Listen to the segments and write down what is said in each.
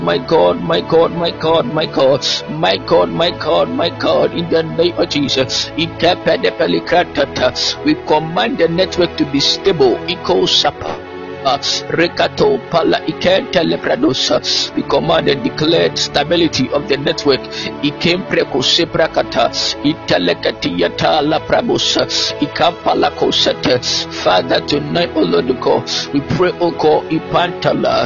My God, my God, my God, my God, my God, my God, my God, in the name of Jesus. We command the network to be stable. Eco Sapa. Rekato Pala Ikenta Lepradosa. We command and declared stability of the network. Ikem Preko Seprakata. Italekatiata La Prabosa. Ikampala Kosete. Father, tonight, O Lord God, we pray, O God, Ipantala.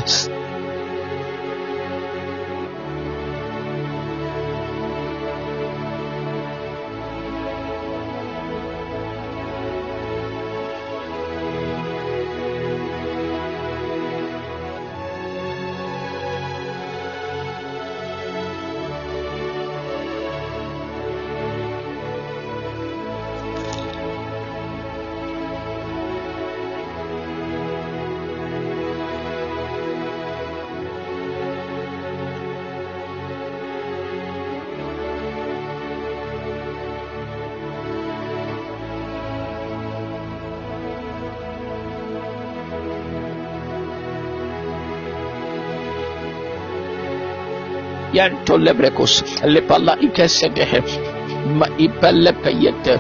Yanto lebrekos lepala ikesedehe ma ipele peyete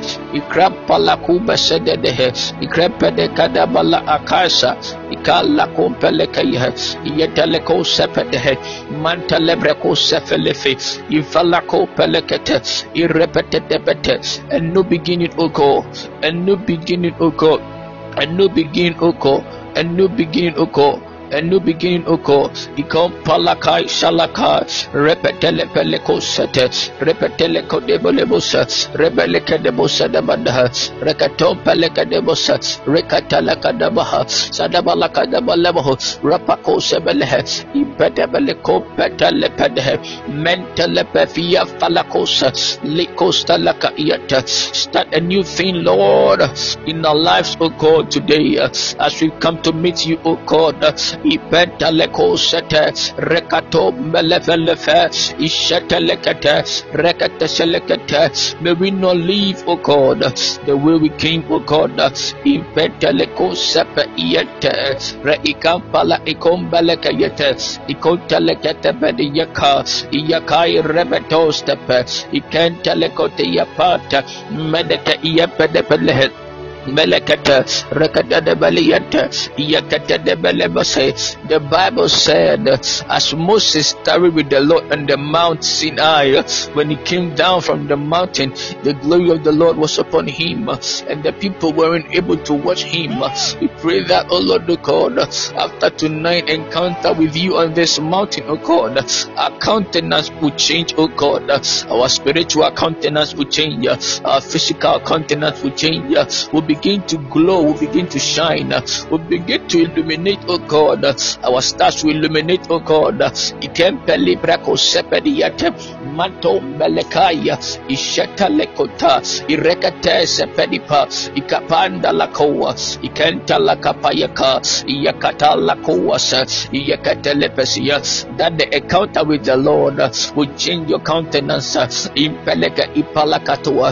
ikrapala kuba sedehe ikrepede kadabala akasa ikala kompele kaya yetele ko sepedehe manta lebreko sefelefe ifala ko pelekete irepete debete a new beginning, O God, a new beginning, O God, a new beginning, O God, a new beginning, O God. A new beginning, O God. Ikom palakai shalakai repetele peleko sete repetele kodebolosa rebeleke debosa dabanda rekatom peleke debosa rekatala kadabaha sadabala kadabaleho rapako sebelehe ibedebele ko petele pedehe mentele pefia falakosa likosta lakayata. Start a new thing, Lord, in our lives, O God, today as we come to meet you, O God. Ipentaleko sete rekato melefelefe ishetelekete rekete selekete. May we not leave, O God, the way we came, O God. Ipentaleko sepe iete reikampala ikombeleke yete ikontelekete bediyaka iyakai rebeto stepe ikentelekote yapata medete iyepedepelehe Melekata Rekata de Baliata Yakata de Belebase. The Bible said as Moses tarried with the Lord on the Mount Sinai, when he came down from the mountain, the glory of the Lord was upon him, and the people weren't able to watch him. We pray that, oh Lord God, after tonight encounter with you on this mountain, oh God, our countenance will change, oh God. Our spiritual countenance will change, our physical countenance will change. We'll begin to glow, we'll begin to shine, we'll begin to illuminate, oh God. Our stars will illuminate, oh God. Ikempeli brako sepediate manto melekaya isheta lekota irekate sepedipa ikapanda lakoa ikenta lakapayaka yakata lakoa yakata lepesia. That the encounter with the Lord will change your countenance. Impeleka ipalakatoa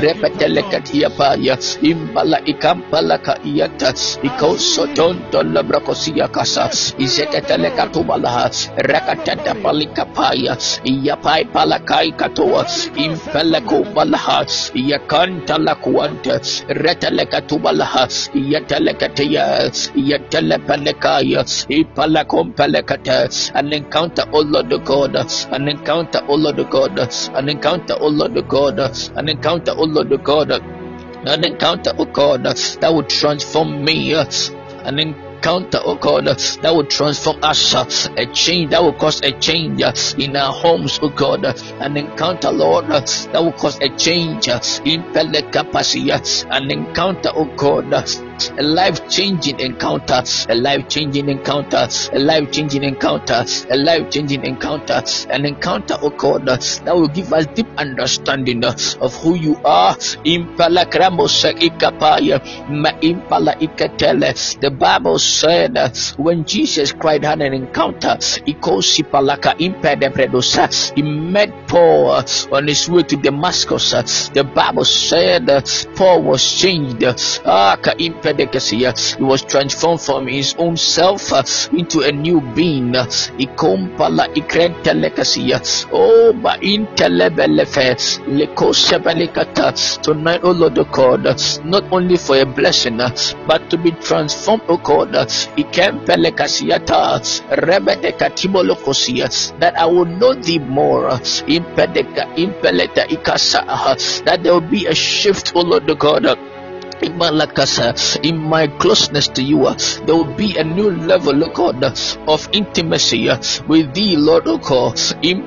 irepetelekatiapaya imbala ikampalaka iyata ikosotonto labrakosia kasa izeketelekatubalaha rakatata palikapaya iyapai palakai katoa impeleko balaha iyakanta lakuanta retelekatubalaha iyatelekatia iyatelepelekaya ipalakompelekata. An encounter, oh Lord God, an encounter, oh Lord God, an encounter, oh Lord God, an encounter, oh Lord God, an encounter, oh God, that would transform me, an encounter, oh God, that will transform us, a change that will cause a change in our homes, oh God, an encounter, Lord, that will cause a change in capacity, an encounter, oh God, a life-changing encounter, a life-changing encounter, a life-changing encounter, a life-changing encounter, an encounter, oh God, that will give us deep understanding of who you are. Impala kramosa ikapaya ma impala ikatele. The Bible said when Jesus Christ had an encounter, he met Paul on his way to Damascus. The Bible said Paul was changed. He was transformed from his own self into a new being. Ikompala ikrentelekasia. Oh, ba intelebelefe lekosebelekata. Tonight, oh Lord, oh God, not only for a blessing, but to be transformed, oh God. Ikempelekasiata rebedekatibolokosia, that I will know thee more. Impeleta ikasa, that there will be a shift, oh Lord, oh God. In my closeness to you, there will be a new level, oh God, of intimacy with thee, Lord, oh God. In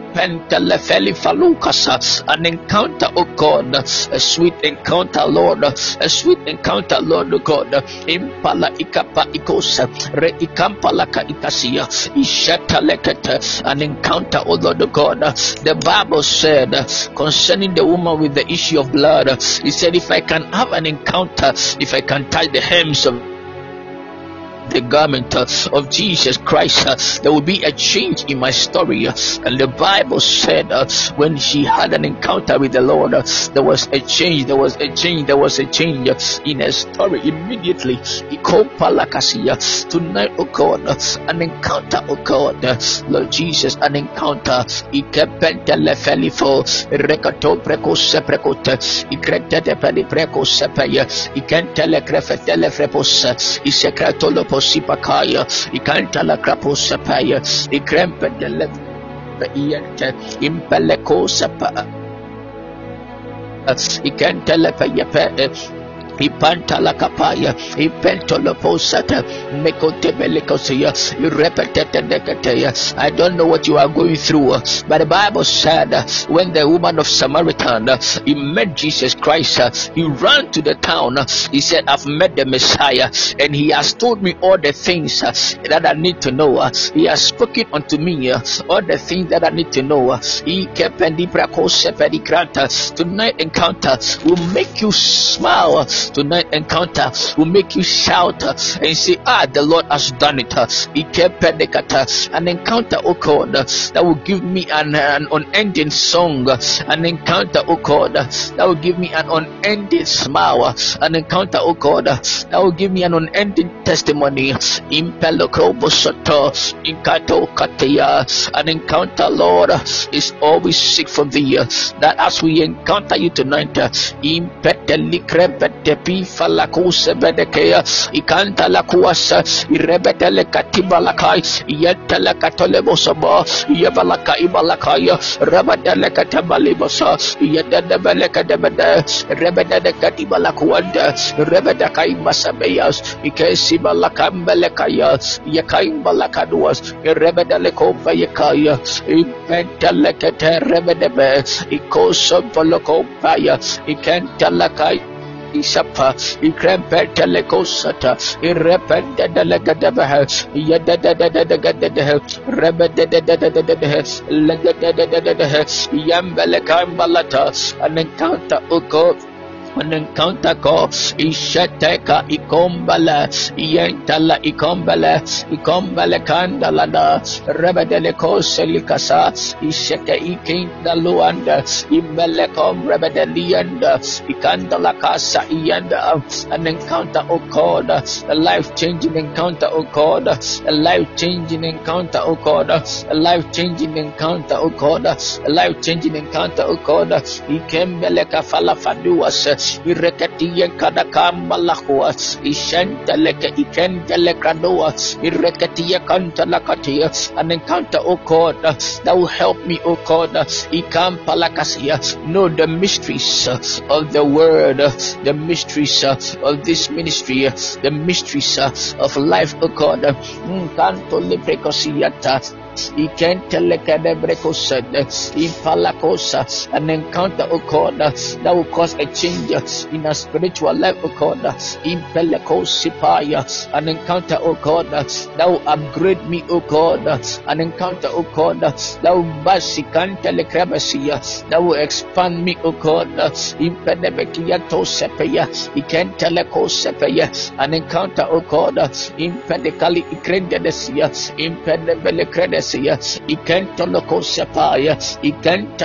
an encounter, oh God, a sweet encounter, Lord, a sweet encounter, Lord, oh God. Impala ikapa ikosa re ikampala ka ikasia ishata lekete, an encounter, oh Lord, oh God. The Bible said concerning the woman with the issue of blood, he said, if I can have an encounter, if I can tie the hems of the garment of Jesus Christ, there will be a change in my story. And the Bible said when she had an encounter with the Lord, there was a change, there was a change in her story immediately. Tonight, oh God, an encounter, oh God, Lord Jesus, an encounter. Posipakaya, ikanta la kraposapaya, ikrempe de leviyente, impeleko sapa, ikanta la payape. Ipanta la kapaya, ipento la posata, mekotebelekosia, you repeated the. I don't know what you are going through, but the Bible said when the woman of Samaritan he met Jesus Christ, he ran to the town. He said, I've met the Messiah, and he has told me all the things that I need to know. He has spoken unto me all the things that I need to know. Tonight encounter will make you smile. Tonight encounter will make you shout and say, the Lord has done it. An encounter, oh God, that will give me an unending song. An encounter, oh God, that will give me an unending smile. An encounter, oh God, that will give me an unending testimony. An encounter, Lord, is always seek from thee. That as we encounter you tonight, Falakuse bedekea ikanta la kuasa irebetele katiba lakai yetele katole bosaba yebalaka ibalakaya rabadele katabali bosa yedede beleka debede rebede katiba la kuanda rebede kai masabeyas ikesi balaka mbelekaya yakai balakaduas rebede kofa yakaya impentele kete rebede be ikoso balako paya ikanta lakai Isapa, Ikrempelekosata, Irrependa delegadebaha, Yadadadadadagadadaha, Rebedadadadadaha, Legadadadadaha, Yambelekambalata, an encounter, Uko. An encounter ko ishateka ikombala yentala ikombala kandala da rebedele ko selikasa isheke ikinda luanda imbele kom rebedelianda ikandala kasa yanda. An encounter, oh God, a life-changing encounter, oh God, a life-changing encounter, oh God, a life-changing encounter, oh God, a life-changing encounter, oh God. Ikembele kafala faduas Irekatiye kadakamba lakua ishenteleke ikentelekanoa irekatiye kantalakatia. An encounter, oh God, that will help me, oh God, ikampalakasia, know the mysteries of the word, the mysteries of this ministry, the mysteries of life, oh God. Canto leprecosiata an encounter, oh God, that will cause a change in our spiritual life, oh God. An encounter, oh God, that will upgrade me, oh God. An encounter, oh God, that will expand me, oh God. An encounter, oh God,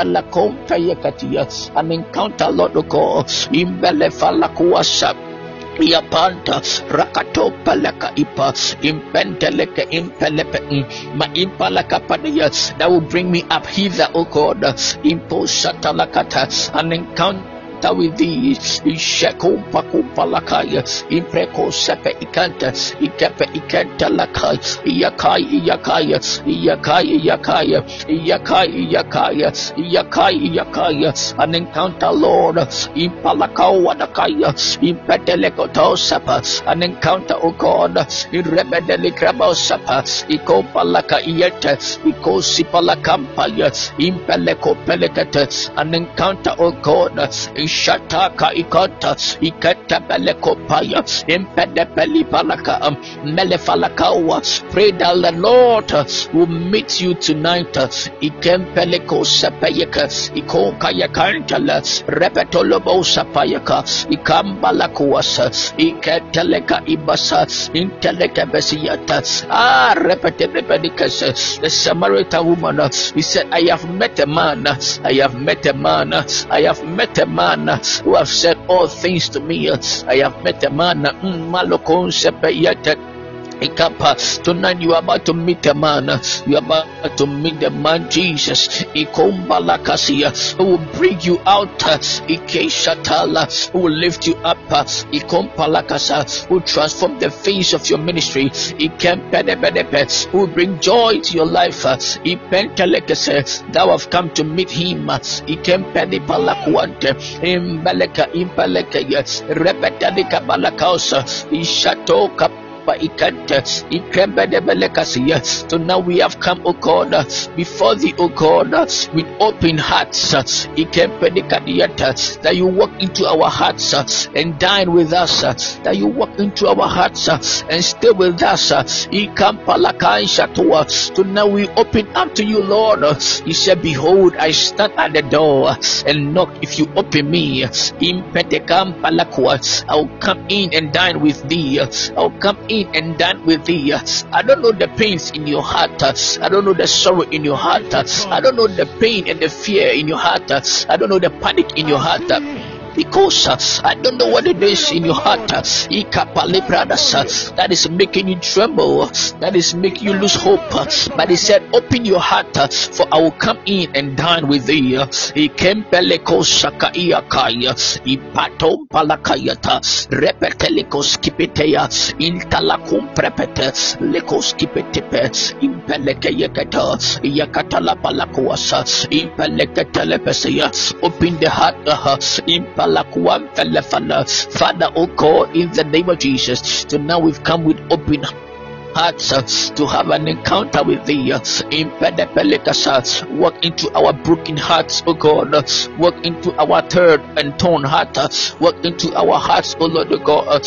an encounter, Lord, oh God, Yapanta rakato palaka ipa impenteleke impelepe ma impalaka padia that will bring me up hither, O God. Imposatalakata, an encounter with thee. Isheko pakupa lakaya impreko sepe ikanta ikepe ikanta lakai yakai yakaya yakai yakaya yakai yakaya yakai yakaya, an encounter, Lord. Impalakao wadakaya impeteleko tosapa, an encounter, O God. Irebedeli krabo sapa iko palaka iyete iko sipalakampaya impeleko pelekete, an encounter, O God. Shataka ikota ikata belekopaya impedepeli palaka melefalakawa. Pray that the Lord will meet you tonight. Ikempeleko sapayaka ikokaya kantala repetolobo sapayaka ikambalakuasa iketeleka ibasa inteleka besiyata repetebedikas. The Samaritan woman, he said, I have met a man, I have met a man, I have met a man who have said all things to me. I have met a man. Malokon sepeyete. Tonight you are about to meet a man. You are about to meet the man Jesus. Ikombalakasia, who will bring you out. Ikeshatala, who will lift you up. Ikompalakasa, who will transform the face of your ministry. Ikempedebedepe, who will bring joy to your life. Ipentelekese, thou have come to meet him. Ikempedipalakuante, Imbeleka, Impeleka, Repetadika Balakausa, Ishatoka. So now we have come, O God, before thee, O God, with open hearts. That you walk into our hearts and dine with us. That you walk into our hearts and stay with us. So now we open up to you, Lord. He said, behold, I stand at the door and knock. If you open me, I will come in and dine with thee. I will come in and done with thee. I don't know the pains in your heart. I don't know the sorrow in your heart. I don't know the pain and the fear in your heart. I don't know the panic in your heart. Because I don't know what it is in your heart that is making you tremble, that is making you lose hope. But he said, open your heart, for I will come in and dine with thee. Ikempeleko sakaiakaya ipatom palakayata repeteleko skipetea intalakum prepete leko skipetepe impelekayekata yakatala palakuasa impelekatelepesea. Open the heart. Father, oh God, in the name of Jesus, so now we've come with open hearts to have an encounter with thee. Walk into our broken hearts, oh God. Walk into our third and torn heart. Walk into our hearts, oh Lord God.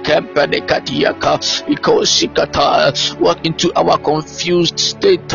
Walk into our confused state.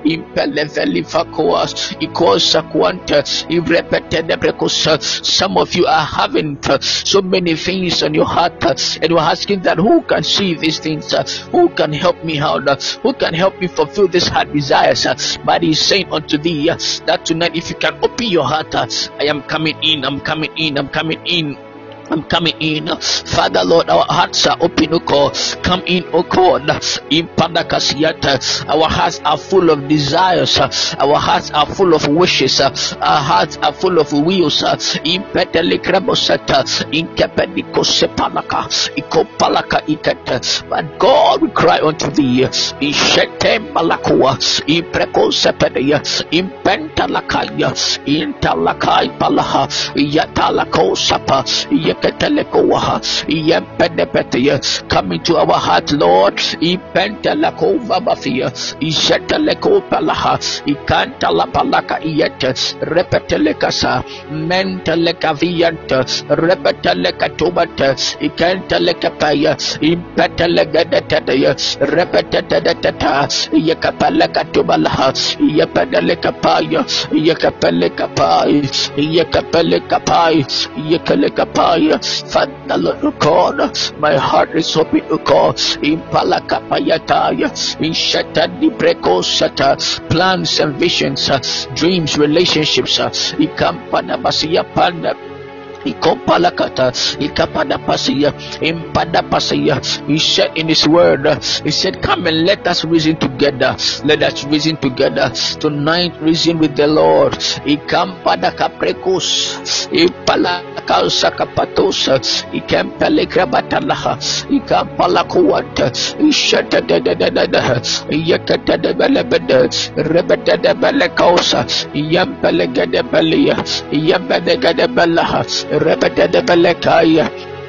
Some of you are having so many things on your heart, and you're asking that who can see these things? Who can help me out? Who can help me fulfill this heart desires? But he's saying unto thee that tonight, if you can open your heart, I am coming in, I'm coming in, I'm coming in. I'm coming in. Father, Lord, our hearts are open, O God. Come in, O God. In Pandakasiata, our hearts are full of desires. Our hearts are full of wishes. Our hearts are full of wills. In Petelikrabosata, in Kepedikosepalaka, Ikopalaka Ikata. But God, we cry unto thee. In Shetem Malakua, in Prekosepedia, in Pentalakaya, in Talakai Palaha, Yatalako Sapa, come into our heart, Lord. Repetelekasa, mentelekavianta, repetelekatubata, ikantelekapaya, impetelegadetaya, repetetetata, yakapalekatubalaha, yapadelekapaya, yakapelekapai, yakapelekapai, yakalekapai. Father, Lord God, my heart is open, O God. In Palakapayataya, in Shatadi Brekosata, plans and visions, dreams, relationships, Ikampana Basia Panda. Ikopalakata, Ikapada Pasaya, Impada Pasaya. He said in his word, he said, come and let us reason together. Let us reason together. Tonight, reason with the Lord. Ikampada Caprecus, Ipalakausa Capatosa, Ikampelegrabatalaha, Ikampalakuata, Ishata de Yakata de Belebede, Rebeta de Belecosa, Yampelegade Belia, Yambedegade Belaha. Rebeta de Belekaya,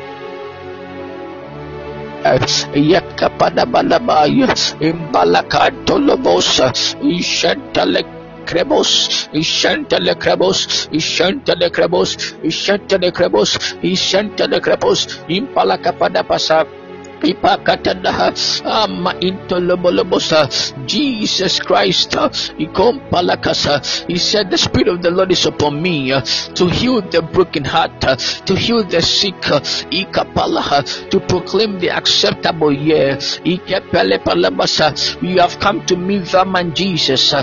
Yakapada Balabaya, Imbalakato Lobosa, Ishantale Crebos, Ishantale Crebos, Ishantale Crebos, Ishantale Crebos, Ishantale Crebos, Impalakapada Pasa. Jesus Christ, he said, the Spirit of the Lord is upon me to heal the broken heart, to heal the sick, to proclaim the acceptable year. We have come to meet the man Jesus.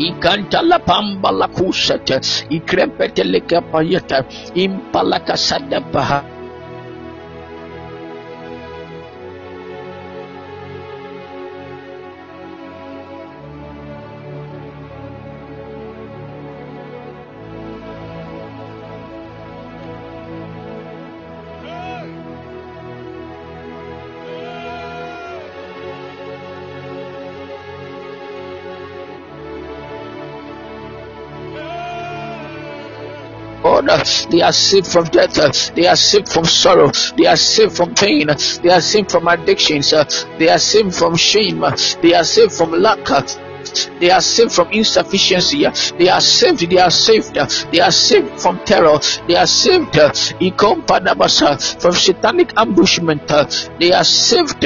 They are saved from death, they are saved from sorrow, they are saved from pain, they are saved from addictions, they are saved from shame, they are saved from lack, they are saved from insufficiency, they are saved, they are saved, they are saved from terror, they are saved from satanic ambushment, they are saved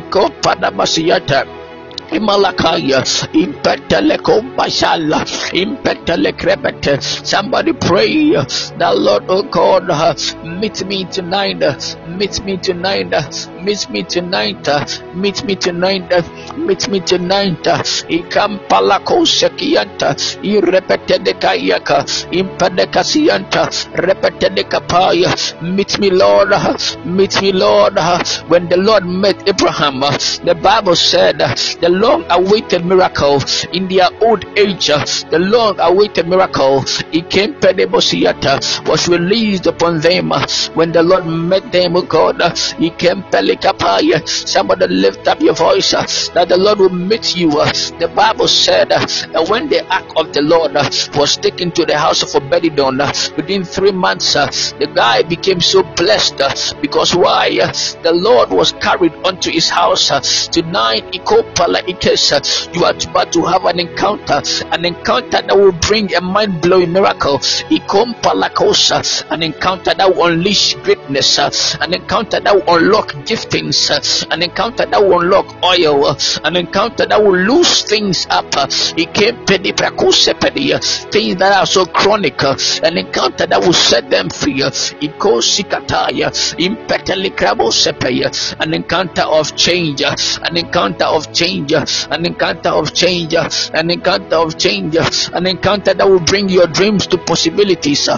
Imalakaya, Impetelekom Bashala, Impetelekrebete. Somebody pray that Lord, oh God, meet me tonight, meet me tonight, meet me tonight, meet me tonight, meet me tonight. Ikampalako Sekianta, Irepetedekayaka, Impedekasianta, Repetedekapaya. Meet me, Lord, meet me, Lord. When the Lord met Abraham, the Bible said, the long-awaited miracle in their old age, the long-awaited miracle, it came was released upon them when the Lord met them. Oh God, he came pelikapaya. Somebody lift up your voice that the Lord will meet you. The Bible said that when the ark of the Lord was taken to the house of Obededon, within 3 months the guy became so blessed because why? The Lord was carried onto his house. Tonight, you are about to have an encounter that will bring a mind-blowing miracle. An encounter that will unleash greatness, an encounter that will unlock giftings, an encounter that will unlock oil, an encounter that will loose things up. Things that are so chronic, an encounter that will set them free. An encounter of change, an encounter of change, an encounter of change, an encounter of change, an encounter that will bring your dreams to possibilities.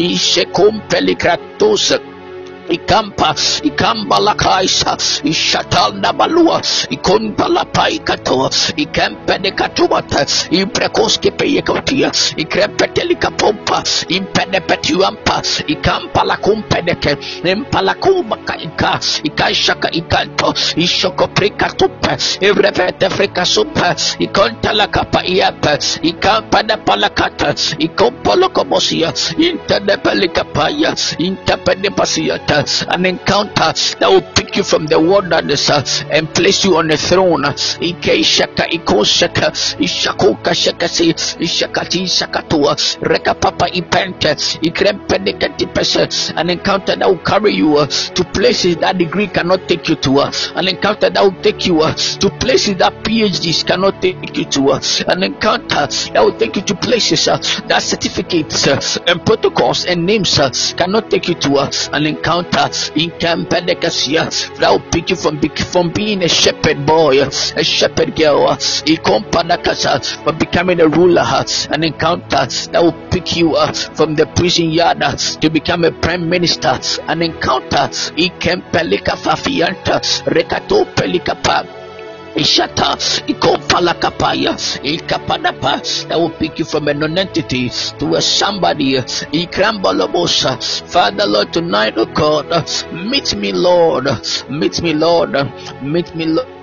Ikamba la kaisa, ishatanda balua, ikonta la paikato, ikempe de katuata, imprekoske peyekotia, ikrempetelica pompa, impede petuampa, ikampa la kumpedeke, impala kumaka ika, ikaishaka ikanto, ishoko prikatupe, ivrevete frikasupe, ikonta la kapa iepe, ikampa de palakata, ikompolo komosia, intede pelikapaya, intepede pasiata. An encounter that will pick you from the wilderness and place you on the throne. Ikeshaka ikoshaka ishakoka shakasi ishakati shakatua rekapapa ipente ikrempedekatipese. An encounter that will carry you to places that degree cannot take you to. An encounter that will take you to places that PhDs cannot take you to. An encounter that will take you to places that certificates and protocols and names cannot take you to. An encounter encounter in Campedekasia that will pick you from being a shepherd boy, a shepherd girl, but becoming a ruler. An encounter that will pick you up from the prison yard to become a prime minister. An encounter Ikempelika Fafianta Rekato Pelikapa Ishata Ikopalakapaya Ikapadapa that will pick you from a non-entity to a somebody. Ikrambalabosa. Father Lord, tonight, oh God, meet me, Lord. Meet me, Lord. Meet me, Lord.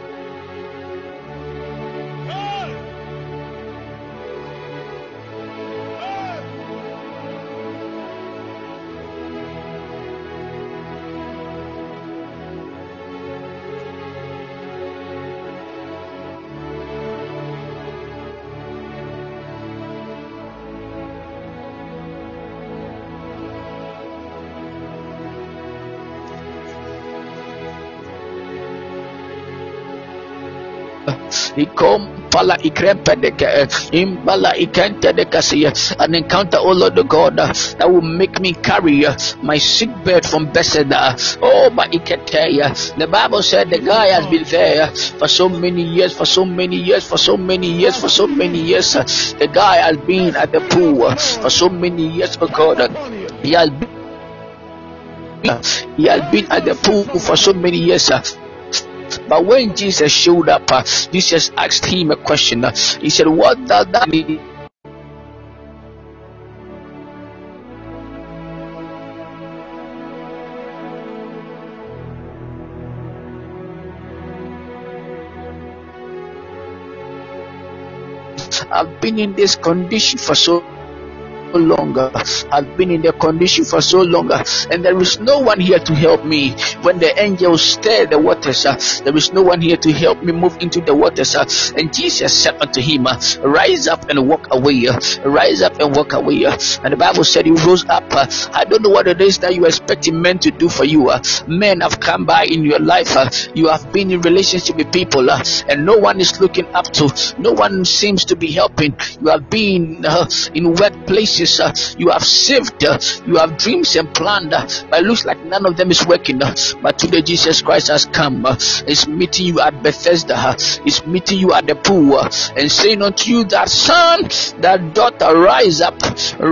Pala ikrempedeke imbala ikentedekasia. An encounter, oh Lord God, that will make me carry my sick bed from Bethesda. Oh, but the Bible said the guy has been there for so many years, for so many years, for so many years, for so many years. The guy has been at the pool for so many years, oh God. He has been at the pool for so many years. But when Jesus showed up, Jesus asked him a question. He said, "What does that mean?" I've been in this condition for so longer. I've been in the condition for so long, and there is no one here to help me. When the angels stir the waters, there is no one here to help me move into the waters. And Jesus said unto him, "Rise up and walk away. Rise up and walk away." And the Bible said he rose up. I don't know what it is that you are expecting men to do for you. Men have come by in your life. You have been in relationship with people, and no one is looking up to. No one seems to be helping. You have been in workplaces. You have saved, you have dreams and planned, but it looks like none of them is working. But today Jesus Christ has come, is meeting you at Bethesda, is meeting you at the pool, and saying unto you that son, that daughter, rise up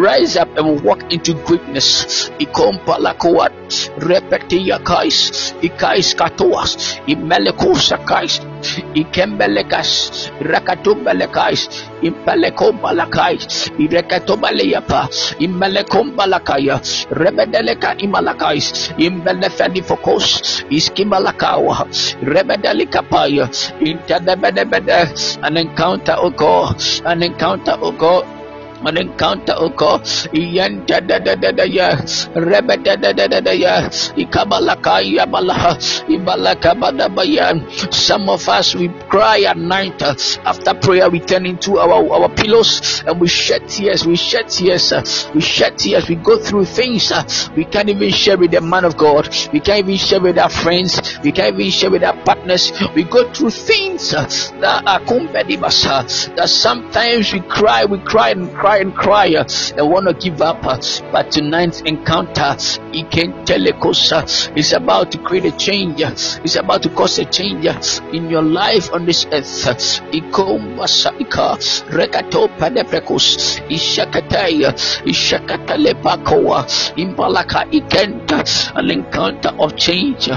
and walk into greatness. Ikompalakowat repetia kais, ikais katoas, imelekosakais, ikembelekas, rakatobalekais, impelekombalakais, irekatobaleyapa, imelekombalakaya, rebedeleka imalakais, imbelefedifokos, iskimalakawa, rebedelikapaya, intadebedebede. An encounter, oh God, an encounter, oh God. An encounter, oh God, yanda da da da da ya, reba da da da da da ya, ikabalaka ya balaha, ibalaka badabaya. Some of us, we cry at night after prayer. We turn into our pillows and we shed tears. We shed tears. We shed tears. We go through things we can't even share with the man of God. We can't even share with our friends. We can't even share with our partners. We go through things that are kumbedibasa. That sometimes we cry and cry and want to give up, but tonight's encounter is about to create a change. It's about to cause a change in your life on this earth. An encounter of change.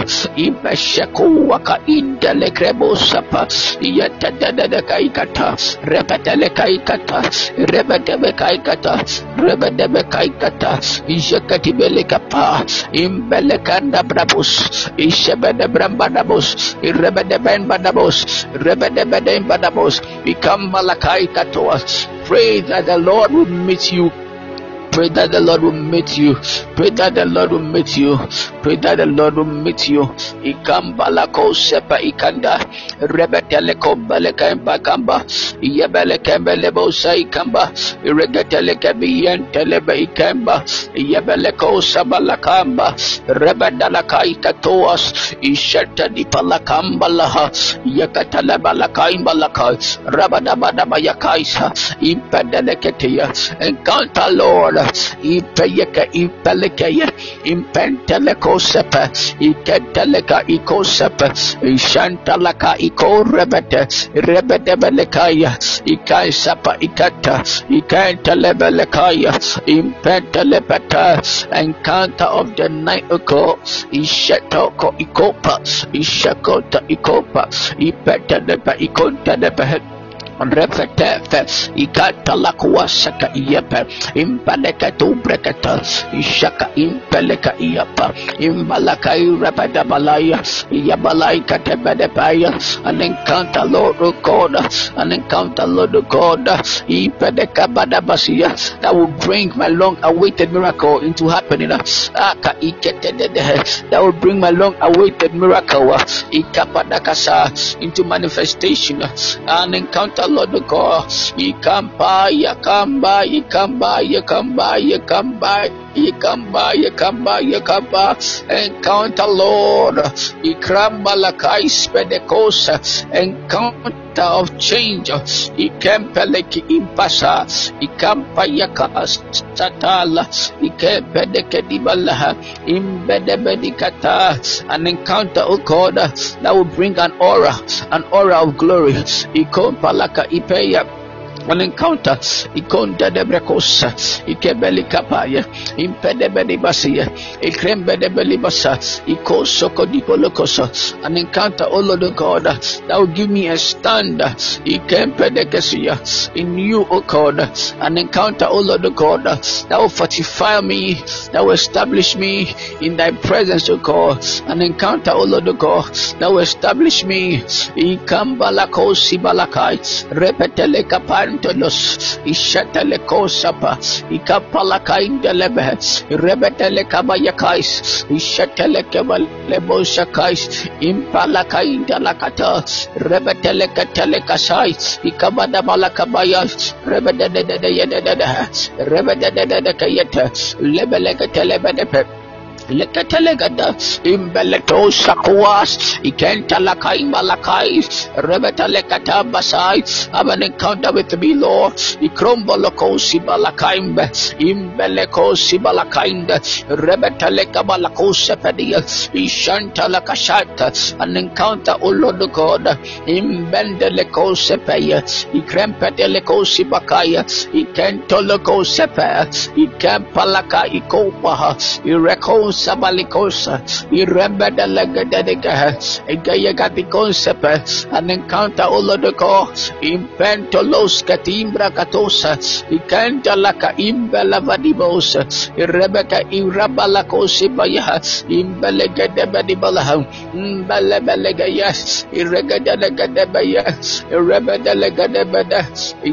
Kaikata, Rebedebe Kaikata, Ishakatibelekapa, Imbelekanda Brabus, Ishebede Brambadabus, Irebedeben Badabus, Rebedebeden Badabus, become Malakai Katoas. Pray that the Lord will meet you. Pray that the Lord will meet you. Pray that the Lord will meet you. Pray that the Lord will meet you. Ikambalako sepa ikanda. Rebetelekom belekamba kamba. Yebelekembelebo saikamba. Iregetelekabiyen telebe ikamba. Yebeleko sabalakamba. Rebedalaka ikatoas. Isheta dipalakambalaha. Yakatalabalakai balaka. Rabadabadabayakaisa. Impedeleketia. Encounter, Lord. ipeyeka impelekeye impenteleko sepe iketeleka ikosepe ishantalaka ikorebete rebedebelekaya ikaisapa ikata ikentelebelekaya impentelepeta. Encounter of the night ago ishetoko ikopa ishakota ikopa ipetelepa ikontelebe Refetefe, Ikata la Kuasaka Yepe, Impaleka to Brekata, Ishaka Impeleka Iapa, Imbalaka Rapida Balaya, Yabalaika Tebedepaya, an encounter Lord God, an encounter Lord God, Ipedeka Badabasia, that will bring my long awaited miracle into happening. Aka Ikete, that will bring my long awaited miracle, Ikapadakasa, into manifestation, an encounter Lord God, Ikamba, encounter Lord, Ikramba Lakais Pedecosa, encounter of change, Ikempeleki Impasa, Ikampayakas Satala, Ikempedekadibalaha, Imbedebedikata, an encounter, oh God, that will bring an aura of glory, Ikompalaka Ipeya. An encounter, Ikonda de Brecosa, Ikebeli Kapaya, Impedebeli Basia, Ikrembedebeli Basa, Ikosoko Dipolocosa, an encounter, oh Lord God, that will give me a stand, Ikempedecasia, in you, oh God, an encounter, oh Lord God, that will fortify me, that will establish me in thy presence, oh God, an encounter, oh Lord God, that will establish me, Ikambalakosi Balakai, Repetele Kapan. Ishatele kosapa ikapalaka indelebe rebetele kabayakais ishatele kebale boshakais impalaka indalakata rebetele katele kasai ikabada malakabaya rebedede kayeta lebele katele bedepe Lekatelegada imbeleto sakuas ikentalakai malakai rebetalekata basai. Have an encounter with me, Lord. Ikromboloko sibalakaimbe imbeleko sibalakainde rebetaleka balako sepedia ishantalakashata. An encounter, O Lord God, imbendeleko sepeya ikrempeteleko sibakaya ikentoloko sepe ikempalaka ikopaha ireko Sabalikosa, Irembeda Legadega, Egayagati concept, an encounter all of the call, Impentolos Catimbra Catosa, Icanta Laca Imbela Vadibosa, Rebecca Irabalacosi Baya, Imbelegadebadibala, Imbelebelegayas, Irregadelegadebaya, Irebedelegadebeda,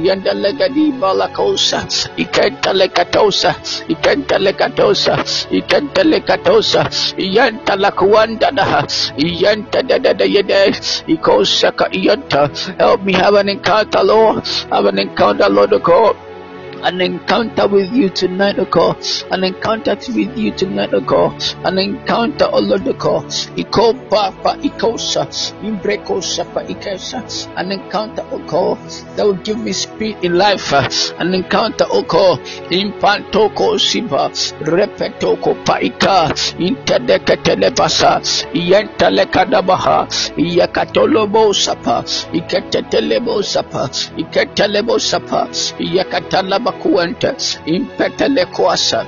Yandelegadi Icanta Lecatosa, Icanta Lecatosa, Icanta Katosa, Yanta Lakuanda, Yanta da Yede, Ikosaka Yanta. Help me have an encounter, Lord. Have an encounter, Lord of God. An encounter with you tonight, O God. An encounter with you tonight, O God. An encounter, O Lord, O God. Iko Papa Ikosa, Imbrekosa Pa Ikesa. An encounter, O God, that will give me speed in life. An encounter, O God, Impantoko Siba, Repetoko Paika, Intedekatelebasa, Yentelekadabaha, Yakatolobo Sapa, Iketelebo Sapa, Iketelebo Sapa, Yakatalaba. Kuenta impetelekoasa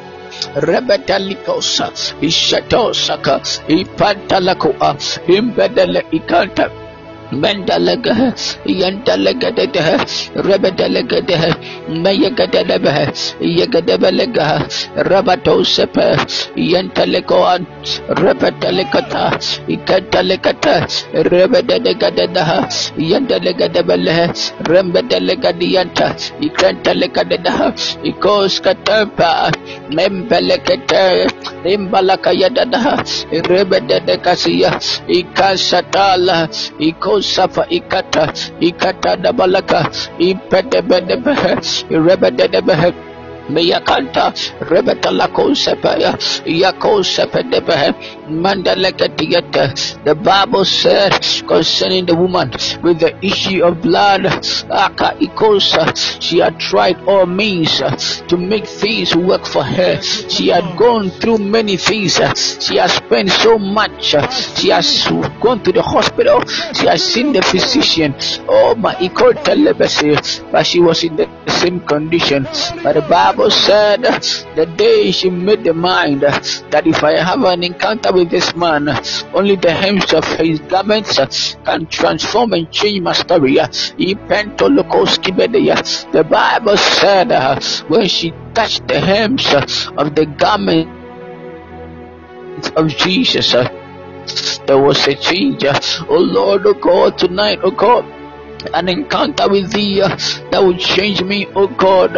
rebetalikosa ishatosaka ipantalakoa imbedele ikanta Mendalega, Yandalega, Rebedelega, Mayagadebe, Yagadebelega, Rabato Sepe, Yantalegoan, Rebedelegata, Ikantalegata, Rebedelega, Yandalega, Rembedelega dianta, Ikantalegada, Ikoskatapa, Membelegate, Imbalakayada, Rebedegasia, Ikasatala. Safa ikata da balaka impedebedebe irebedebe Meyakanta Rebeta la Konsepaya Yakosepedebe Mandalekatiata. The Bible said concerning the woman with the issue of blood, Aka Ikosa, she had tried all means to make things work for her. She had gone through many things. She has spent so much. She has gone to the hospital. She has seen the physician. Oh my Ikota legacy, but she was in the same condition. But the Bible said the day she made the mind that if I have an encounter with this man, only the hems of his garments can transform and change my story. The Bible said when she touched the hems of the garment of Jesus, there was a change. Oh Lord, oh God, tonight, oh God, an encounter with thee that will change me, oh God.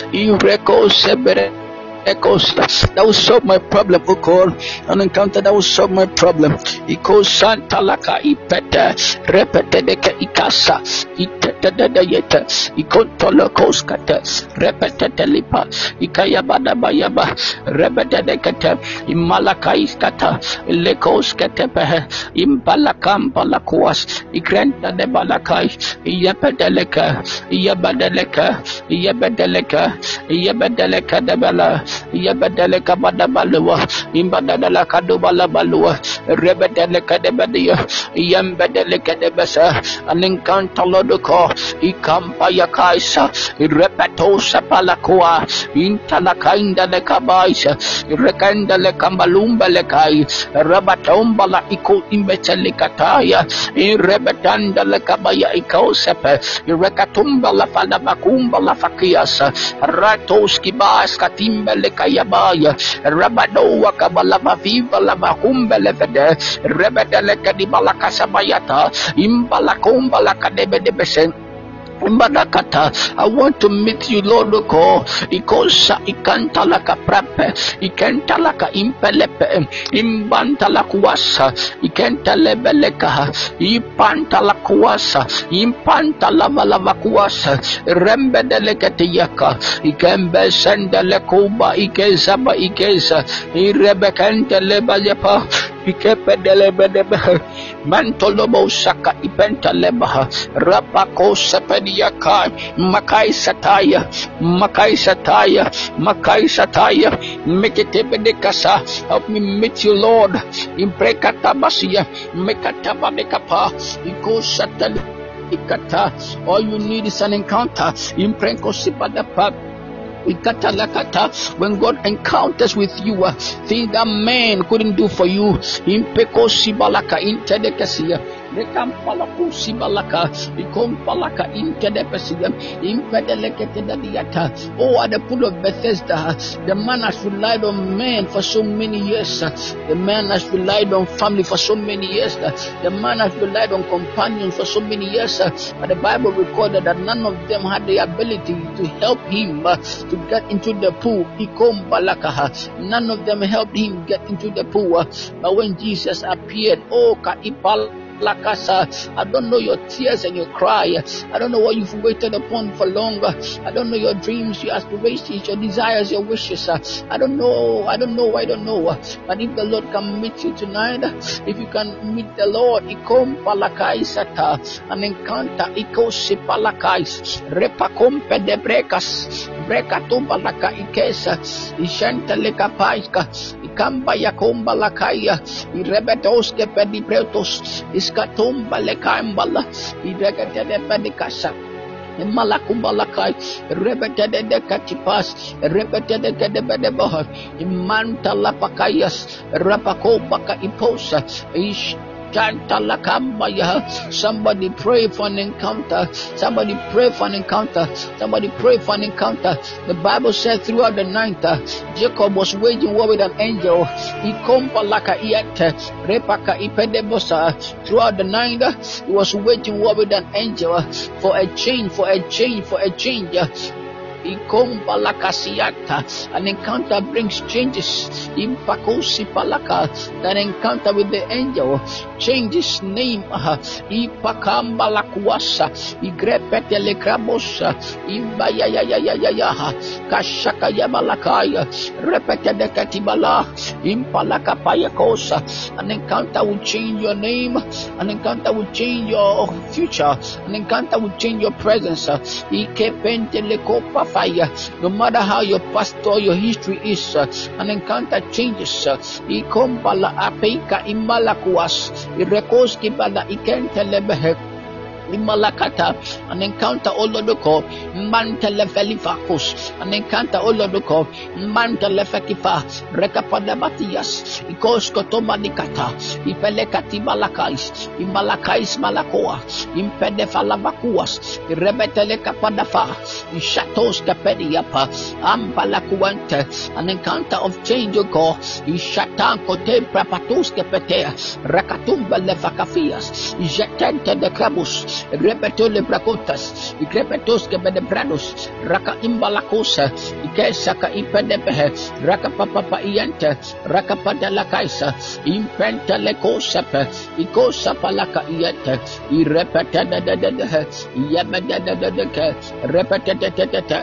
That will solve my problem, oh God. An encounter that will solve my problem. Iko Santa Laka Ipeta Repetedeka Ikasa Itetadayeta Ikontolokoskata Repetelipa Ikayabada Bayaba Repetedekata Imalakaiskata Lekoskatepe Imbalakam Balakuas Ikrenta de Balakai Yapedeleka Yabadeleka Yabedeleka Yabedeleka de Bala Yabadeleka Badabalua Imbadalaka Dubala Balua Rebedeleka de Badia Yambedeleka de Bessa an encounter Lodoko Ikampa Yakaisa Repetosa Palakua Intalakainda de Kabaisa Rekanda le Kambalumba Lekai Rabatomba la Iko Imbetelikataya Rebetanda le Kabaya Ikosepe Rekatumba la Falabakumba la Fakiasa Ratoski Bas Katimba le Kayabaya Rabadoa Kabalaba Viva la Bakumba Levede Rebedele Kadibala Kasabayata Imbalakumba la Kadebe de Besen Mbadakata, I want to meet you, Lord. Ikosa ikantalaka prape, ikantalaka impelepe, imbantalakuasa, ikantalebeleka, ipantalakuasa, impantalavalavakuasa, rembedelekatiyaka, ikembesendalekuba, ikezaba ikeza, irebekantelebalepa, ikepedelebedebe, mantolobo saka ipentalebaha, rapako sepediaka, makai sataya, meketebedekasa. Help me meet you, Lord. Imprekatabasia, mekatabadekapa, iko satali ikata. All you need is an encounter. Imprekosipadapa. When God encounters with you, things that man couldn't do for you. Impeko sibalaka intedekasia. Rekampalaku sibalaka. Ikompalaka intedepesia. Impedeleketenadiata. Oh, at the pool of Bethesda, the man has relied on men for so many years. The man has relied on family for so many years. The man has relied on companions for so many years. But the Bible recorded that none of them had the ability to help him to get into the pool. None of them helped him get into the pool. But when Jesus appeared, oh, Lakasa, I don't know your tears and your cry. I don't know what you've waited upon for longer. I don't know your dreams, your aspirations, your desires, your wishes. I don't know. But if the Lord can meet you tonight, if you can meet the Lord, Ikom Palakai Sata, an encounter, Iko Sipalakais, Repakompe de Brecas, Brecatumba Laka Ikesa, Ishanteleka Paiska, Ikamba Yakomba Lakaya, Irebetoske Pedipretos, Iskatumba Lekambala, Iregatede Pedicasa. Malakumbalakai, repeted the Katipas, repeted the Kadebedeboha, Imanta Lapakayas, Rapakobaka Iposa, Somebody pray for an encounter. Somebody pray for an encounter. Somebody pray for an encounter. The Bible said throughout the night, Jacob was waging war with an angel. He throughout the night, he was waging war with an angel for a change. An encounter brings changes. That encounter with the angel change his name. Ipakamba la kuasa, igrepete le krabosa, imbaya ya ya ya ya ya, kashaka ya balakaya, repete de katibala, impalaka paya kosa. An encounter will change your name. An encounter will change your future. An encounter will change your presence. Ikepente le kopa fire. No matter how your past or your history is, an encounter changes. Ikombala apeika imalakuas, irekoski bala ikente lebehe. Imalakata, an encounter olodoko, mantele felifacus, an encounter olodoko, mantele fekifa, rekapada batias, ikoskotoma nikata, ipelekati malakais, imalakais malakoa, impedefalabakuas, irebetele kapadafa, ishatos kapediapa, ambalakuante, an encounter of change, O God, ishatan kote prapatos kepetea, rakatumba lefakafias, jetente de krabus. Repetole bracotas, Icrepetos kebedebranos, Raka imbalacosa, Ikesaka impedepe, Raka papa iente, Raka padala kaisa, Impenta lecosape, Icosa palaka iente, Irepetede de Yabedede, Repetete,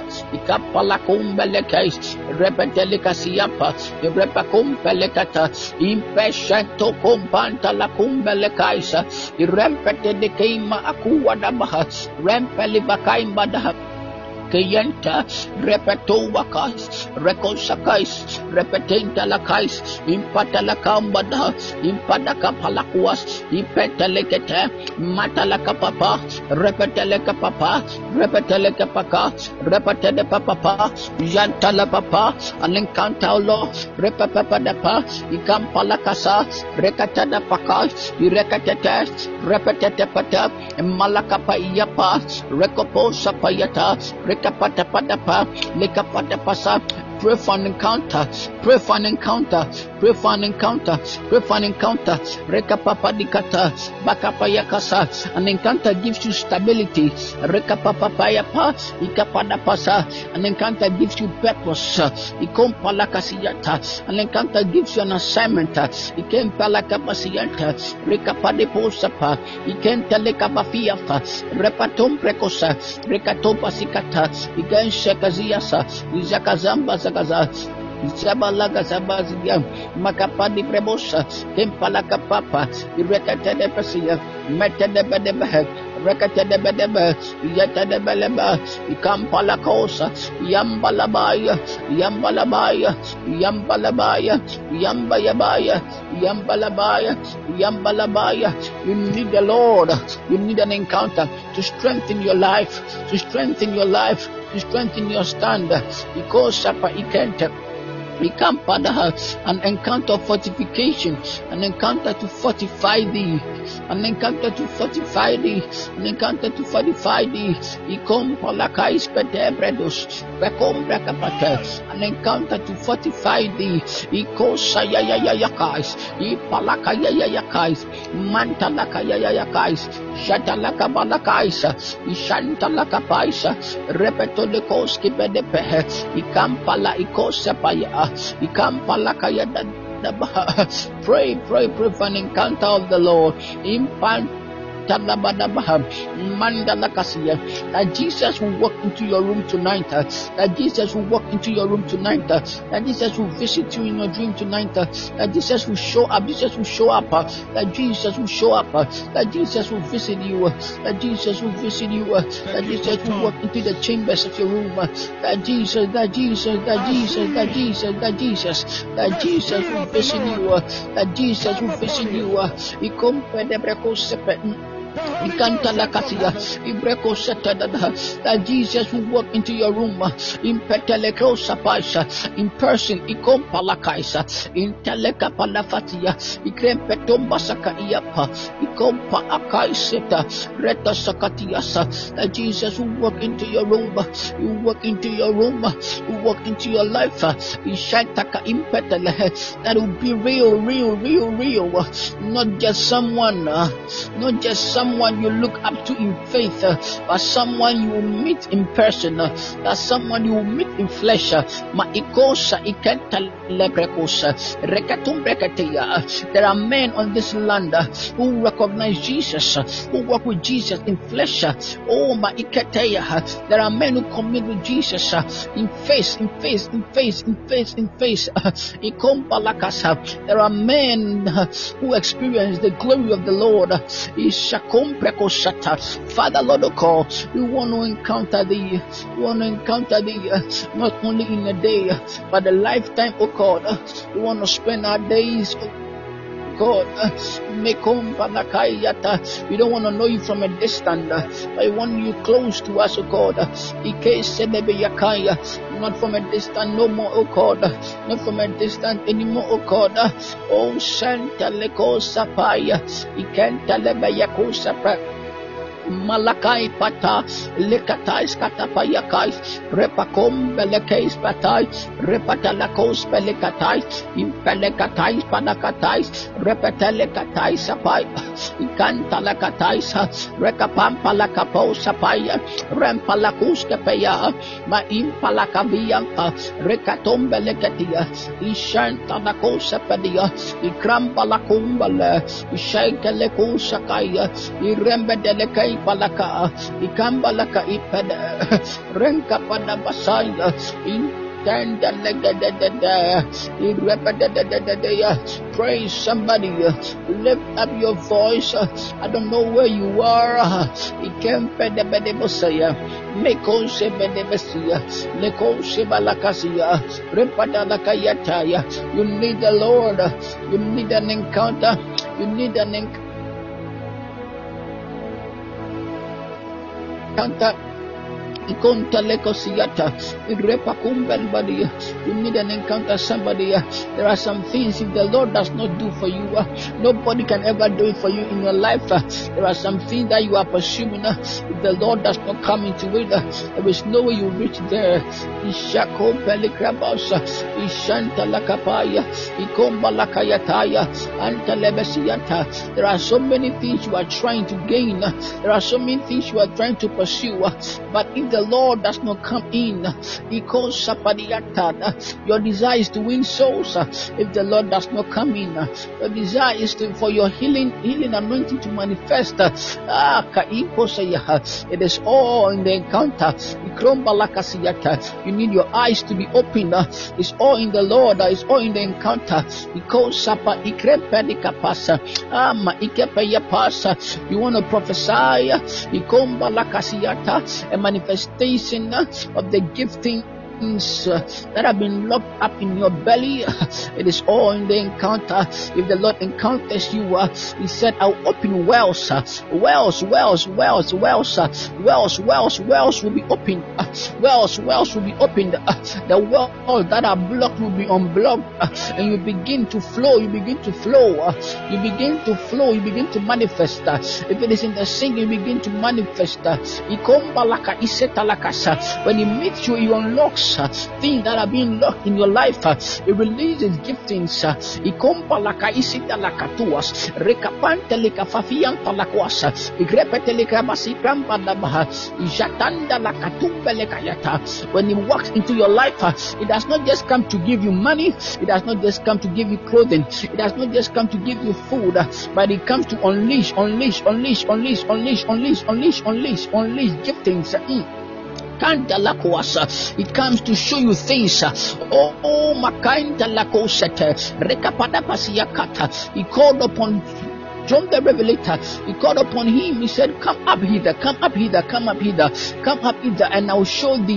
Icapalacumbelecais, Repetelicasiapa, Repacumpelekata, Impeshento companta la cumbelecaisa, Irempete de Keima. Kuwadabaha, Rempelivakaimadaha, Kayenta, Repeto Wakais, Rekosakais, Repetenta Lakais, Impatalakambada, Impadaka Palakuas, Ipetelekete, Matalaka Papa, Repeteleka Papa, Repeteleka Paka, Repetele Papa, Yantala Papa, an encounter law, Repapadapa, Ikampalakasa, Rekatada Paka, Irekatete, Repetete Pata, Malakapa Yapa, Rekoposa Payata, Rekapatapadapa, Lekapatapasa. Pray for an encounter, pray for an encounter, pray for an encounter, pray for an encounter. Rekapapadikata, Bakapayakasa. An encounter gives you stability. Rekapapapayapa, Ikapadapasa. An encounter gives you purpose. Ikompalakasiyata. An encounter gives you an assignment. Ikempalakapasiyata. Rekapadeposapa. Ikentelekabafiafa. Repatom prekosa. Rekatopasikata. Ikenshekaziyasa. Izakazamba Zagaza, Zabalaga Zabazia, Makapadi Prebosa, Kempalaka Papa, Irekatede Pasia, Metedebedebe, Rekatedebedebe, Yetedebeleba, Ikampalakosa, Yambalabaya, Yambalabaya, Yambalabaya, Yambayabaya, Yambalabaya, Yambalabaya. You need the Lord, you need an encounter to strengthen your life, to strengthen your life, to strengthen your stand. Because Sapa Ikente. An encounter of fortification, an encounter to fortify thee, an encounter to fortify thee, an encounter to fortify thee. Ikom palakais pedebredos, bekom brakapata, an encounter to fortify thee. Iko sayayayakais, ipalakayayakais, mantalakayayakais, shatalakabalakais, ishantalakapaisa, repetolikoski pedepe, ikampala ikosapaya. Pray for an encounter of the Lord. That Jesus will walk into your room tonight. That Jesus will walk into your room tonight. That Jesus will visit you in your dream tonight. That Jesus will show up. Jesus will show up. That Jesus will show up. That Jesus will visit you. That Jesus will visit you. That Jesus will walk into the chambers of your room. That Jesus will visit you. That Jesus will visit you. That Jesus will walk into your room in person, in telekapalafatia, that Jesus will walk into your room, you walk into your room, you walk into your life, that will be real, not just someone, not just someone you look up to in faith, but someone you will meet in person, that someone you will meet in flesh. There are men on this land who recognize Jesus, who walk with Jesus in flesh. Oh, there are men who commit with Jesus in face. There are men who experience the glory of the Lord. Father, Lord, we want to encounter Thee. We want to encounter Thee not only in a day, but a lifetime, oh God. We want to spend our days, God, we don't want to know You from a distance, but we want You close to us, oh God. Not from a distance no more, oh God. Not from a distance anymore, oh God. Oh, Santa Leko Sapaya, Ikenta Lebayako Sapa. Malakai pata lekatais katapayakai repakom belekais patai repatalakos pelekatai impelekatai panakatai repetelekatai sapai ikantalakatai rekapampalakapo sapaya rempalakus kapaya ma impalakabiyan rekatombelekatia ishantanakos sapadia ikrampalakumbale ishaikalekusakaya irembedelekai Balaka, Ikambalaka Ipada, Renka Pada Basaya, Intenda Legadada, praise somebody, lift up your voice. I don't know where you are. Ikempe Bedebosaya, Meko Sebedebesia, Leko Sebalakasia, Repada Lakayataya. You need the Lord, you need an encounter, you need an encounter. You need an encounter somebody. There are some things if the Lord does not do for you, nobody can ever do it for you in your life. There are some things that you are pursuing. If the Lord does not come into it, there is no way you reach there. There are so many things you are trying to gain. There are so many things you are trying to pursue, but if the Lord does not come in, your desire is to win souls. If the Lord does not come in, your desire is for your healing anointing to manifest. It is all in the encounter. You need your eyes to be opened. It's all in the Lord. It's all in the encounter. You want to prophesy a manifestation of the gifting that have been locked up in your belly. It is all in the encounter. If the Lord encounters you, He said, I'll open wells. Wells will be opened. Wells will be opened. The wells that are blocked will be unblocked, and you begin to flow. You begin to manifest. If it is in the sink, you begin to manifest. When He meets you, He unlocks things that are being locked in your life. It releases giftings. When He walks into your life, it does not just come to give you money, it does not just come to give you clothing, it does not just come to give you food, but it comes to unleash giftings. It comes to show you things. Oh, Makanda Lakosete, Rekapada Pasiakata. He called upon John the Revelator. He called upon him. He said, come up hither, and I'll show thee.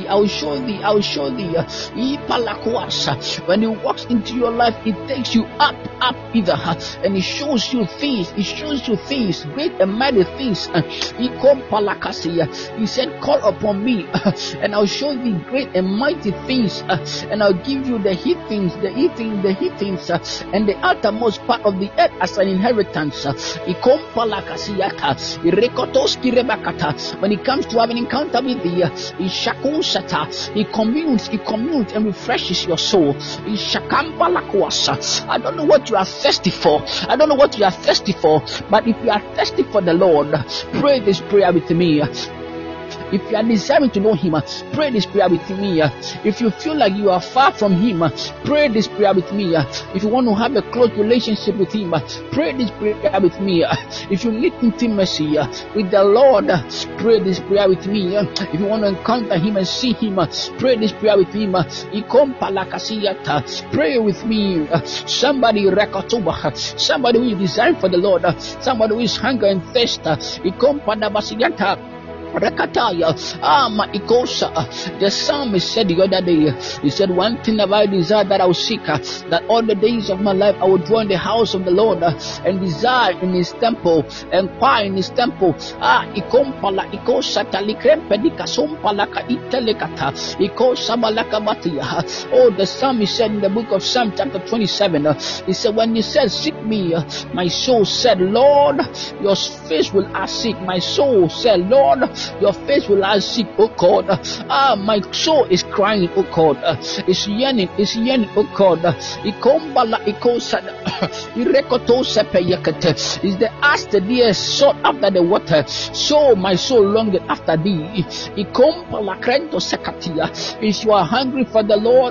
When He walks into your life, it takes you up hither, and He shows you things. Great and mighty things. He said, call upon me, and I'll show thee great and mighty things, and I'll give you the heat things, and the uttermost part of the earth as an inheritance. When it comes to having an encounter with thee, he communes and refreshes your soul. I don't know what you are thirsty for. But if you are thirsty for the Lord, pray this prayer with me. If you are desiring to know Him, pray this prayer with me. If you feel like you are far from Him, pray this prayer with me. If you want to have a close relationship with Him, pray this prayer with me. If you need intimacy with the Lord, pray this prayer with me. If you want to encounter Him and see Him, pray this prayer with Him. Pray with me. Somebody who is desiring for the Lord, somebody who is hunger and thirst. Rakataya, Ikosa. The psalmist said the other day, he said, one thing have I desired that I will seek, that all the days of my life I will dwell in the house of the Lord and desire in His temple, inquire in His temple. Ikompala, Ikosa, Talikrempedika, Sompalaka, Itelekata, Ikosa, Malakabatia. Oh, the psalmist said in the book of Psalm chapter 27, he said, when He said, seek me, my soul said, Lord, your face will I seek. My soul said, Lord, your face will I seek, oh God. My soul is crying, oh God. It's yearning, oh God. Is the ass the deer sought after the water, so my soul longed after thee. If you are hungry for the Lord,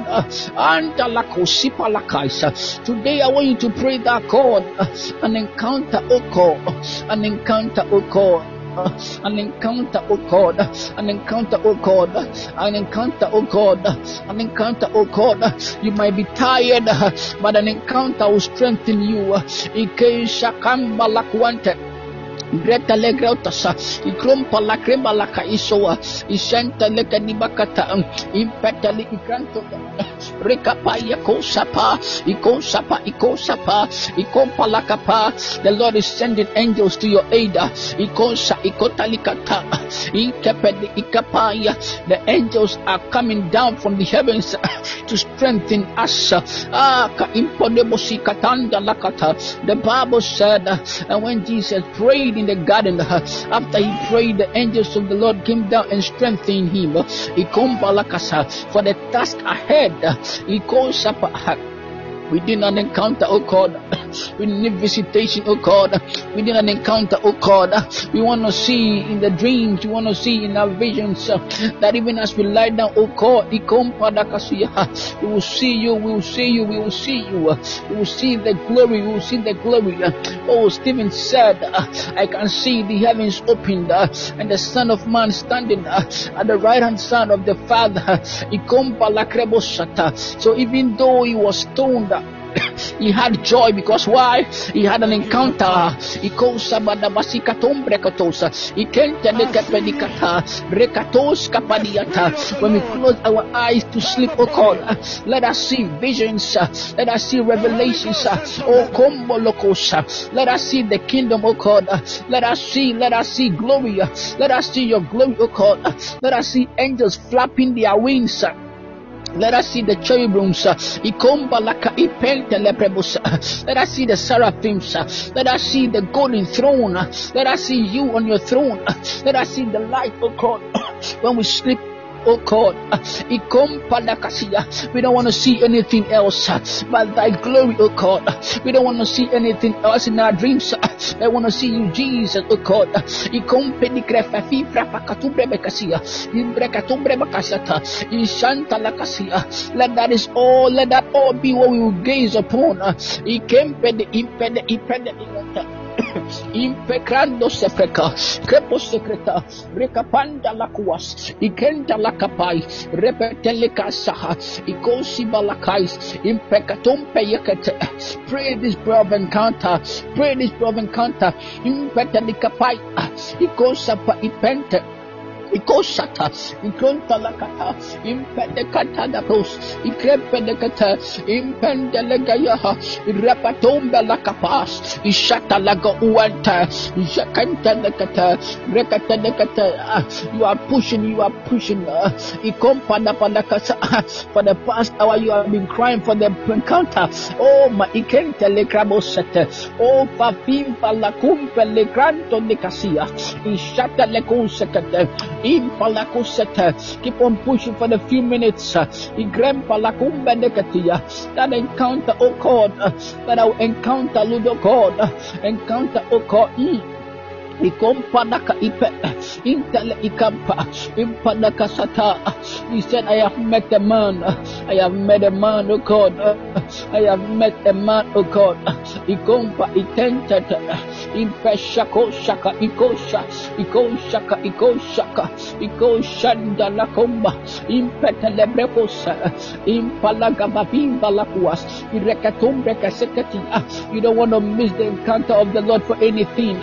today I want you to pray that God, an encounter, oh God, an encounter, oh God. An encounter, oh God, an encounter, oh God, an encounter, oh God, an encounter, oh God. You might be tired, but an encounter will strengthen you. Ike shakamba lakwante. Greta Legrautas, Ikrumpa la Crema la Kaisoa, Isenta Lekanibakata, Impetali Ikranto, Rekapaya Kosapa, Ikosapa, Ikompa la Kapa. The Lord is sending angels to your aid. Ikosa, Ikotalikata, Ikapedi Ikapaya. The angels are coming down from the heavens to strengthen us. The Bible said, and when Jesus prayed in the garden, after he prayed, the angels of the Lord came down and strengthened him. For the task ahead, we did not encounter, oh God. We need visitation, oh God. We did not encounter, oh God. We want to see in the dreams, we want to see in our visions, that even as we lie down, oh God, we will see you, we will see you, we will see you. We will see the glory, we will see the glory. Oh, Stephen said, I can see the heavens opened and the Son of Man standing at the right hand side of the Father. So even though he was stoned, he had joy, because why? He had an encounter. When we close our eyes to sleep, oh God, let us see visions, let us see revelations, oh Kombolokosa, let us see the kingdom, oh God, let us see glory, let us see your glory, oh God, let us see angels flapping their wings. Let us see the cherubims. Let us see the seraphims. Let us see the golden throne. Let us see you on your throne. Let us see the light, oh God, when we sleep, oh God. We don't want to see anything else but thy glory, oh God. We don't want to see anything else in our dreams. I want to see you, Jesus, oh God. Let that all be what we will gaze upon. Impecando sepreca, crepo secreta, recapanda la cuas, ikenda la capai, repetele casaha, ikosi balakais, impecatum peyakete. Pray this prayer of encounter, impetele capai, ikosapa ipente. Ikoshata, Ikonta Lakata, Impedekata da Post, Ikrepedekata, Impendelegayaha, Rapatomba Lakapas, Ishata Laga Uanta, Jakanta Lekata, Rekata Lekata. You are pushing, Ikompa Napalakasa. For the past hour, you have been crying for the encounter. Oh, my Ikenta Lekrabosete, oh, Fafim Palakumpe Lekranto Nekasia, Ishata Lekosekate. Keep on pushing for the few minutes. That encounter, oh God, that I will encounter, Lord, oh God, encounter, oh God. Ikompanaka ipe intele ikampa impanaka sata. He said, I have met a man. I have met a man, oh God. I have met a man, oh God. Ikompa itented impeshako shaka ikosha ikoshaka ikoshaka ikoshanda lakomba impetelebrebosa impalaga babimba lakuas irekatumbe kasekati. You don't want to miss the encounter of the Lord for anything.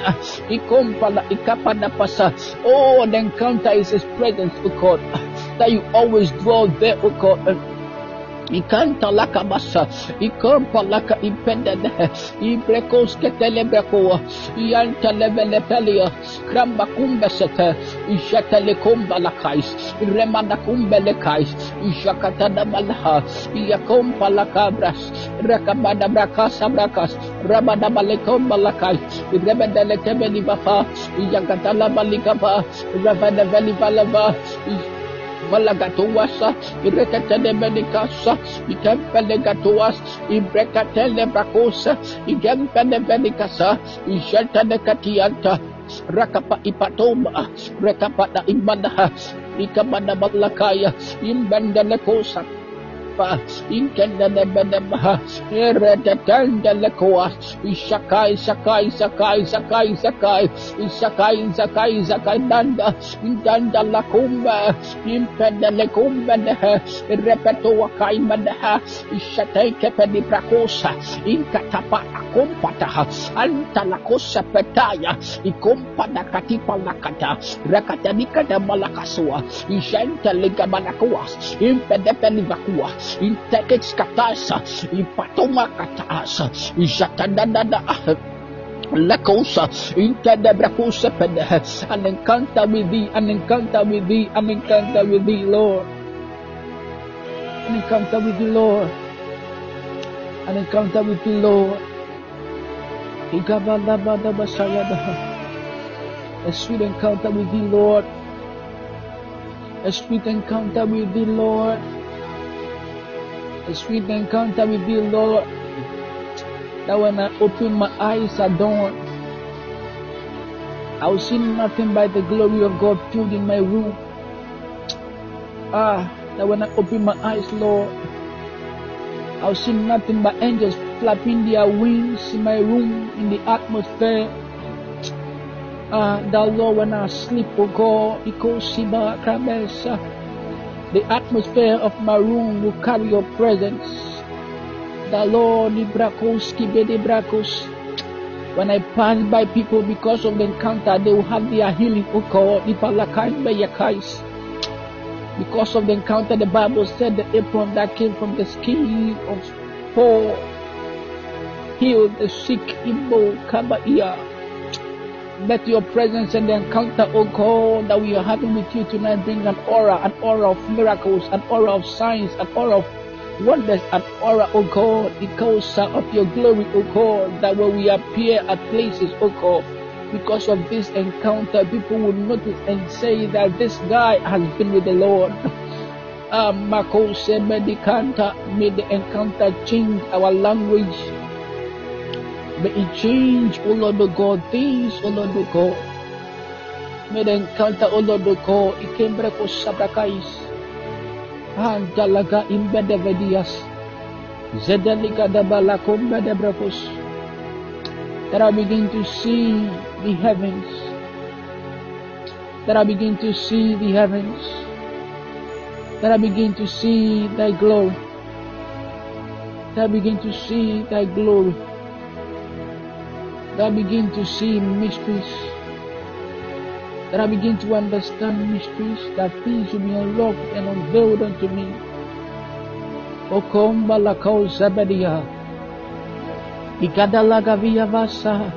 Oh, the encounter is His presence, oh God, that you always dwell there, oh God. Ikanta laka basa, ikampa laka impended, ibrekos ketelebrekoa, ianta levelepelia, kramba kumbesete, ishatele kumba lakais, remanda kumbelekais, ishakatada malaha, iakompa lakabras, rakabada brakasa brakas, rabada balekomba lakai, rebedele kebeli bafa, iakatala balikaba, ravada veli balava, Malagatuasa, Irekatele Medicasa, Ikempele Gatuas, Ibrekatele Bracosa, Ikempele Medicasa, Ishatane Katianta, Rakapa Ipatoma, Rekapata Imbanaha, Ikamana Balakaya, Imbandele Cosa. Inkenda de Benebaha, Eretatanda Lekoas, Ishakai, Sakai, Sakai, Sakai, Sakai, Isakai, Sakai, Sakai, Danda, Danda Lakumba, Impenda Lekumba, Repeto Kaimadaha, Ishatay Kepedi Prakosa, Inkatapa, Kompataha, Antalakosa Petaya, Ikompada Katipa Lakata, Rakatanika de Malakasua, Ishanta Ligamanakuas, Impedepeni Vakua. In Tekes Katasa, in Patoma Katasa, in Jatandada Lakosa, in Tadabrakosa Pede, an encounter with thee, an encounter with thee, an encounter with thee, Lord. An encounter with thee, Lord. An encounter with thee, Lord. A sweet encounter with thee, Lord. A sweet encounter with thee, Lord. A sweet encounter with thee, Lord, that when I open my eyes at dawn, I will see nothing but the glory of God filled in my room. That when I open my eyes, Lord, I will see nothing but angels flapping their wings in my room, in the atmosphere. That Lord, when I sleep, oh God, the atmosphere of my room will carry your presence. The Lord, when I pass by people because of the encounter, they will have their healing, oh God. Because of the encounter, the Bible said the apron that came from the skin of Paul healed the sick Imbo Kabaiya. Let your presence and the encounter, oh God, that we are having with you tonight bring an aura of miracles, an aura of signs, an aura of wonders, an aura, oh God, because of your glory, oh God, that when we appear at places, oh God, because of this encounter, people will notice and say that this guy has been with the Lord. Mako said, may the encounter change our language. May it change, O Lord of God, things, O Lord of God. May the encounter, O Lord of God, Ikembreko Sabrakais, Antalaga Imbedevedias, Zedelica de Balakombe de Brakos, that I begin to see the heavens, that I begin to see the heavens, that I begin to see thy glory, that I begin to see thy glory. That I begin to see mysteries. that I begin to understand mysteries, that things will be unlocked and unveiled unto me. Okomba lakao zabadia. Ikadalaga via vasa.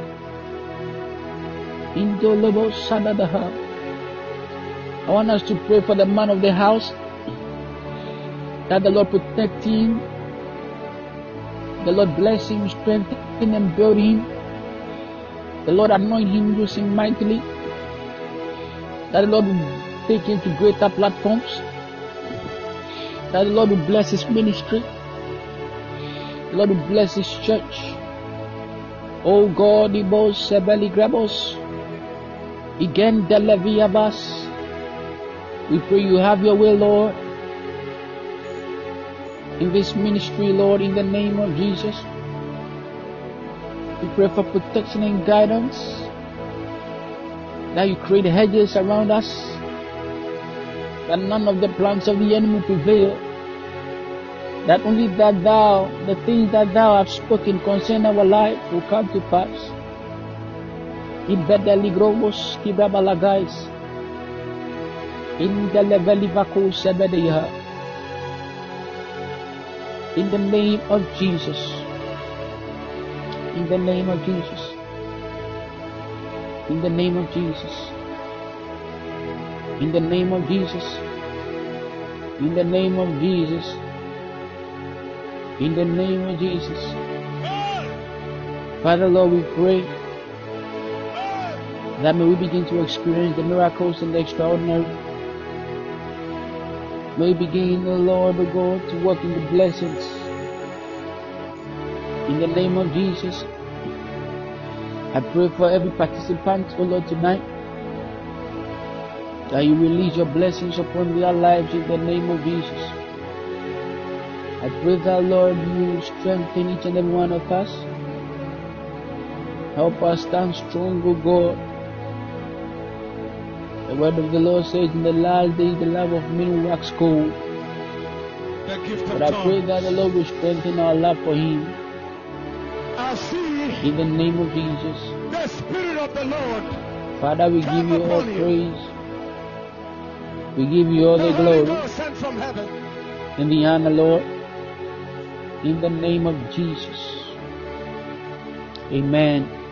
Indolobo sadadaha. I want us to pray for the man of the house, that the Lord protect him, the Lord bless him, strengthen him, and build him. The Lord anoint him, use him mightily. That the Lord will take him to greater platforms. That the Lord will bless his ministry. The Lord will bless his church. Oh God, Ibos Sebeli Grabos. Again, Deleviabas. We pray you have your way, Lord, in this ministry, Lord, in the name of Jesus. We pray for protection and guidance, that you create hedges around us, that none of the plans of the enemy prevail, that only that thou, the things that thou hast spoken concerning our life will come to pass. Ibedeligrobos kibrabalagais. In the levelivako sebedeha. In the name of Jesus. In the name of Jesus. In the name of Jesus. In the name of Jesus. In the name of Jesus. In the name of Jesus. Father Lord, we pray that may we begin to experience the miracles and the extraordinary. May we begin, O Lord, O God, to walk in the blessings. In the name of Jesus, I pray for every participant, O Lord, tonight, that you release your blessings upon their lives in the name of Jesus. I pray that, Lord, you strengthen each and every one of us. Help us stand strong, O God. The word of the Lord says, in the last days the love of men will wax cold. But I pray that the Lord will strengthen our love for him. In the name of Jesus. The Spirit of the Lord. Father, we give you all praise. We give you all the glory. Sent from heaven. In the honor, Lord. In the name of Jesus. Amen.